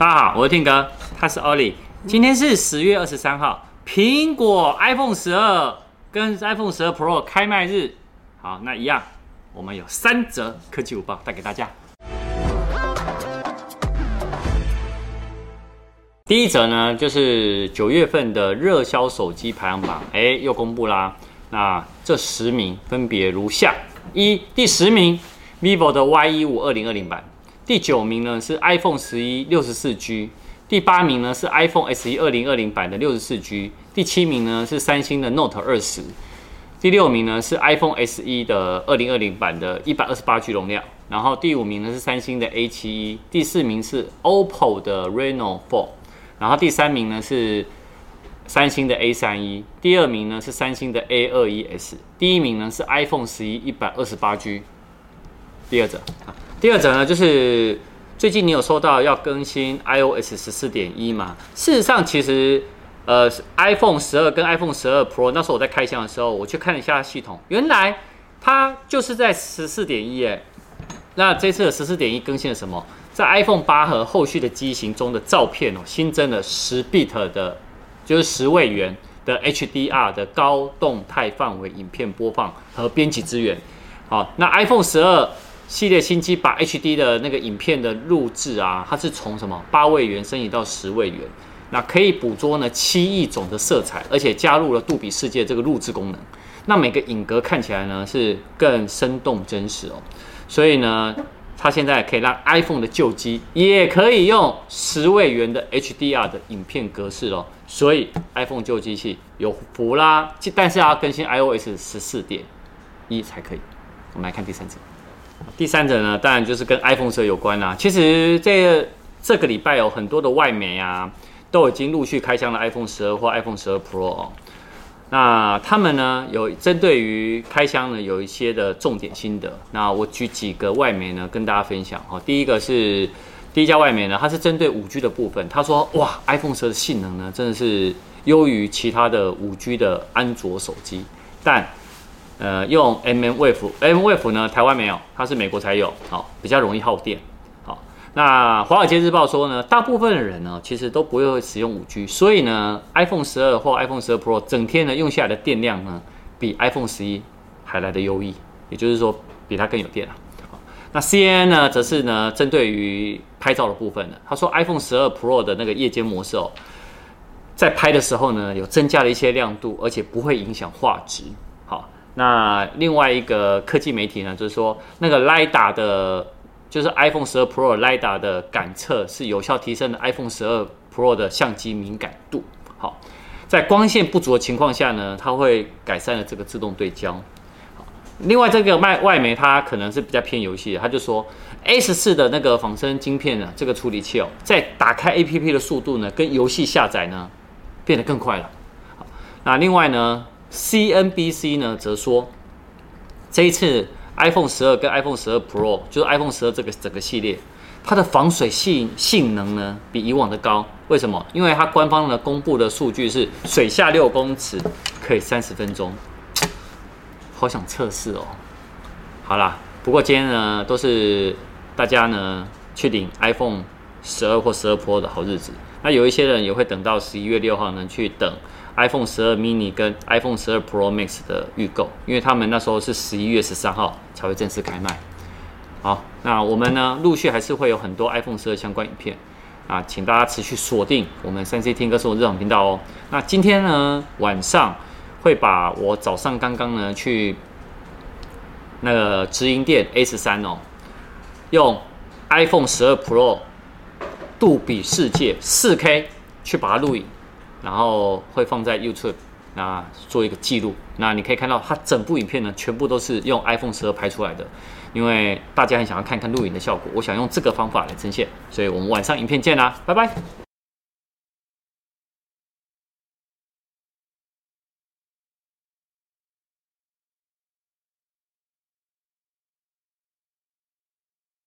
大家好，我是 Tim 哥，他是 Ollie。今天是10月23号，苹果 iPhone 12跟 iPhone 12 Pro 开卖日。好，那一样，我们有3则科技午报带给大家。第一则呢，就是9月份的热销手机排行榜，又公布啦。那这10名分别如下：第10名 ，vivo 的 Y15 2020版。第9名呢是 iPhone 11 64G， 第8名呢是 iPhone SE 2020版的 64G， 第7名呢是三星的 Note 20， 第6名呢是 iPhone SE 的2020版的 128G 容量，然后第5名呢是三星的 A71， 第4名是 OPPO 的 Reno 4， 然后第3名呢是三星的 A31， 第2名呢是三星的 A21S， 第1名呢是 iPhone 11 128G。第二则呢，就是最近你有收到要更新 iOS 14.1吗？事实上，其实iPhone 12跟 iPhone 12 Pro 那时候我在开箱的时候，我去看了一下系统，原来它就是在 14.1 那这次的 14.1 更新了什么？在 iPhone 8和后续的机型中的照片新增了10 bit 的，就是10位元的 HDR 的高动态范围影片播放和编辑资源。好，那 iPhone 12系列新机把 HD 的那个影片的录制它是从8位元升级到10位元，那可以捕捉7亿种的色彩，而且加入了杜比世界这个录制功能。那每个影格看起来呢是更生动真实所以呢，它现在可以让 iPhone 的旧机也可以用10位元的 HDR 的影片格式所以 iPhone 旧机器有福啦，但是要更新 iOS 14.1 才可以。我们来看第三则。第三者呢，当然就是跟 iPhone 12有关啦。其实这个礼拜有很多的外媒都已经陆续开箱了 iPhone 12或 iPhone 12 Pro 那他们呢有针对于开箱呢有一些的重点心得。那我举几个外媒呢跟大家分享第一家外媒呢，它是针对5G 的部分，他说哇 iPhone 12的性能呢真的是优于其他的5G 的安卓手机，但用 mmWave 呢，台湾没有，它是美国才有，比较容易耗电。那华尔街日报说呢，大部分的人呢其实都不会使用5G， 所以呢 iPhone 12或 iPhone 12 Pro 整天呢用下来的电量呢，比 iPhone 11还来得优异，也就是说比它更有电那 CNN 呢，则是呢针对于拍照的部分呢，他说 iPhone 12 Pro 的那个夜间模式在拍的时候呢，有增加了一些亮度，而且不会影响画质。那另外一个科技媒体呢，就是说那个 LiDAR 的，就是 iPhone 12 Pro LiDAR 的感测是有效提升了 iPhone 12 Pro 的相机敏感度。在光线不足的情况下呢，它会改善了这个自动对焦。另外这个外媒它可能是比较偏游戏的，他就说 A14 的那个仿生晶片呢，这个处理器在打开 APP 的速度呢，跟游戏下载呢变得更快了。那另外呢CNBC 呢则说，这一次 iPhone 12跟 iPhone 12 Pro， 就是 iPhone 12这个整个系列，它的防水性能呢比以往的高。为什么？因为它官方呢公布的数据是水下6公尺可以30分钟，好想测试好啦，不过今天呢都是大家呢去领 iPhone 12或12 Pro 的好日子。那有一些人也会等到11月6号呢去等iPhone 12 mini 跟 iPhone 12 Pro Max 的预购，因为他们那时候是11月13号才会正式开卖。好，那我们呢陆续还是会有很多 iPhone 12相关影片请大家持续锁定我们3C 听歌生活日常频道那今天呢晚上会把我早上刚刚呢去那个直营店 A13用 iPhone 12 Pro 杜比世界 4K 去把它录影，然后会放在 YouTube 做一个记录。那你可以看到它整部影片呢全部都是用 iPhone 12拍出来的，因为大家很想要看看录影的效果，我想用这个方法来呈现，所以我们晚上影片见啦，拜拜。